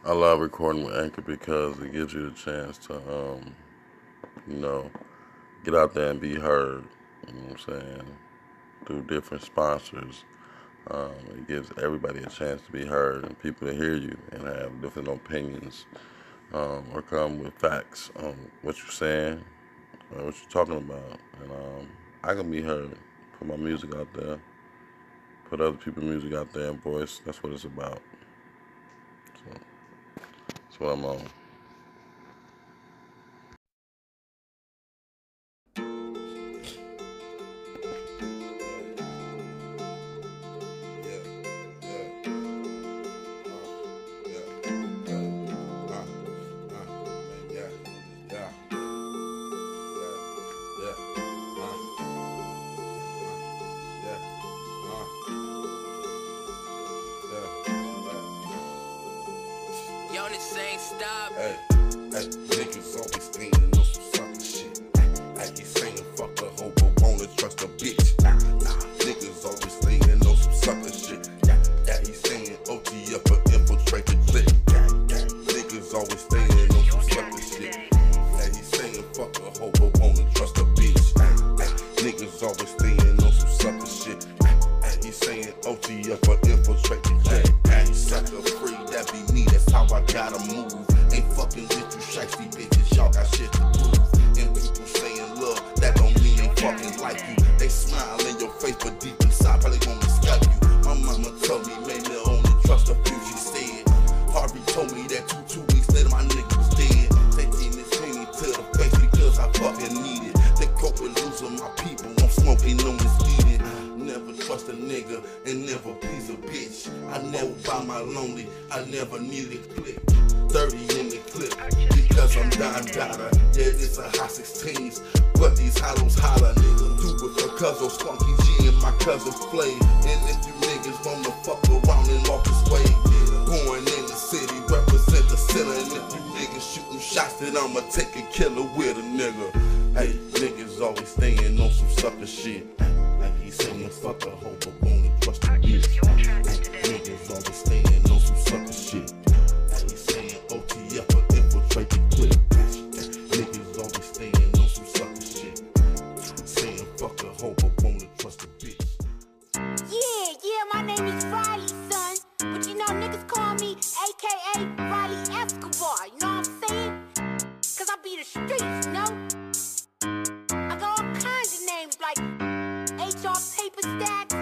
I love recording with Anchor because it gives you the chance to, get out there and be heard. You know what I'm saying? Through different sponsors. It gives everybody a chance to be heard and people to hear you and have different opinions or come with facts on what you're saying or what you're talking about. And I can be heard, put my music out there, put other people's music out there and voice. That's what it's about. So that's what I'm on. Yo, this ain't stop. Hey, niggas always leaning on some sucker shit. Hey, you saying fuck a hoe but wanna trust a bitch. Nah, niggas always leaning on some sucker shit. Yeah, he's saying OT up or infiltrate the clique. Niggas always leaning on some sucker shit. Hey, he's saying fuck a hoe but wanna trust a bitch. Niggas always leaning on some sucker shit. Hey, he's saying OT up or infiltrate the clique. Sucker free, that be me, that's how I gotta move. Ain't fucking with you shiesty bitches, y'all got shit to prove. And people saying love, that don't mean they fucking like you. They smile in your face, but deep inside probably wanna scalp you. My mama told me, maybe only trust a few, she said. Harvey told me that two weeks later my nigga was dead. Taking this thing to the face because I fucking need it. They cope with losing my people, I'm smoking on this eating. Never trust a nigga and never please a bitch. I never buy my lonely, I never needed click. 30 in the clip, because I'm Don Dada. Yeah, it's a hot 16s, but these hollows holler, nigga. Do it for cousin Spunky G and my cousin Flay. And if you niggas wanna fuck around and walk this way, born in the city, represent the center. And if you niggas shooting shots, then I'ma take a killer with a nigga. Hey, niggas always staying on some sucker shit. Like he's saying fuck a hoe but wanna trust a bitch. Niggas always staying on some sucker shit. Like he's saying OT up or infiltrate the clique. Niggas always staying on some sucker shit. Saying fuck a hoe but wanna trust a bitch. Yeah, my name is Riley, son. But you know niggas call me AKA Riley Escobar, you know what I'm saying? Cause I be the streets, you know? I got all kinds of names like HR Paper Stacks,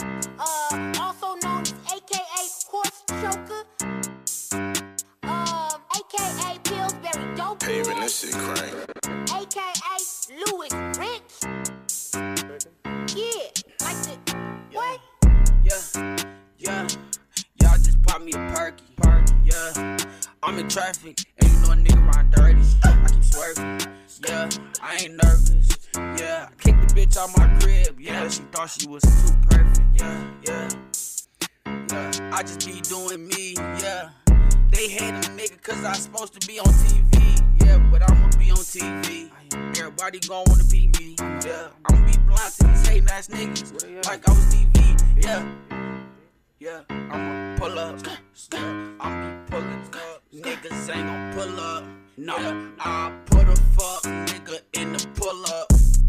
also known as AKA Horse Choker, AKA Pillsbury Dope Hey, man, Boy, this shit crank. AKA Louis Rich. Yeah, like the what? Yeah. Y'all just pop me a perky. Yeah. I'm in traffic, and you know a nigga ride dirty. I keep swerving. Yeah, I ain't nervous. Yeah, I kicked the bitch out my crib. Yeah, she thought she was too perfect. Yeah. I just be doing me. Yeah. They hate a nigga cause I supposed to be on TV. Yeah, but I'ma be on TV. Everybody gon' wanna be me. Yeah, I'ma be blind to these hating ass niggas like I was TV. Yeah, I'ma pull up. I'ma be pulling up. Niggas ain't gon' pull up. No, I put a fuck nigga in the pull up.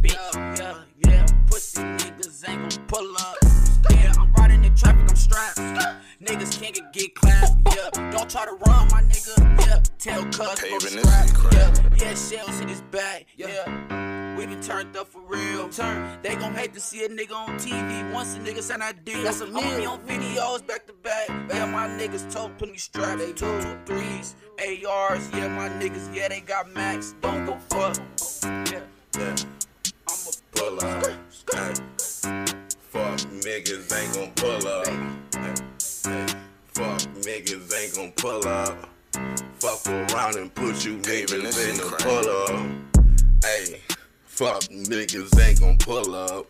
Yeah, pussy niggas ain't gon' pull up. Yeah, I'm riding in traffic, I'm strapped. Niggas can't get clapped. Yeah, don't try to run, my nigga. Yeah, tell cuz Hey, go to man, this shit scrap. crack. Yeah, shells in his back. Yeah, we been turned up for real. They gon' hate to see a nigga on TV. Once a nigga sign that deal, that's a I'ma be on videos back to back. Yeah, my niggas told plenty straps. They 223s, ARs. Yeah, my niggas, yeah, they got max. Don't go fuck. Yeah, I'ma Pull up. Hey. Fuck niggas ain't gon' pull up. Hey. Fuck niggas ain't gon' pull up. Fuck around and put you niggas this in shit the crazy. pull up. Hey. Fuck niggas ain't gon' pull up.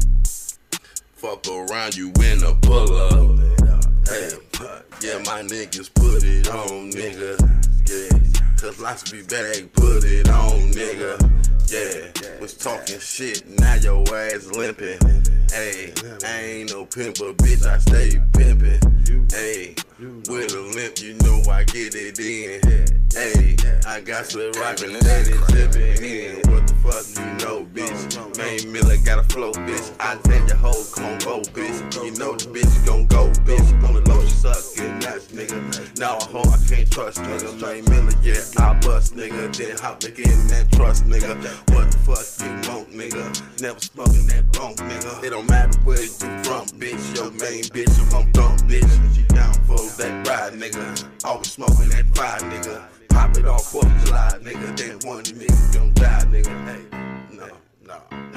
Fuck around you in the pull up. Hey. Yeah, my niggas put it on, nigga. Yeah. Cause lots of people ain't put it on, nigga. Yeah, was talking shit, now your ass limping. Hey, I ain't no pimp, but bitch, I stay pimping. Hey, with a limp. pimp, you know I get it in. Hey, I got some rockin' steady sippin' in. What the fuck you know, bitch? Main Miller got a flow, bitch. I tell your hoe, come on, go, bitch. You know the bitch gon' go, bitch. On the low, she suckin' nuts, nigga. Now a hoe I can't trust, nigga. Main Miller, yeah, I bust, nigga. Then hop back in that trust, nigga. What the fuck you want, nigga? Never smoking that bone, nigga. It don't matter where you from, bitch. Your main bitch, you gon' dump, bitch. She down for that ride, nigga. Always smoking that fire, nigga. Pop it off 4th of July, nigga. Then one nigga gon' die, nigga. Hey, no.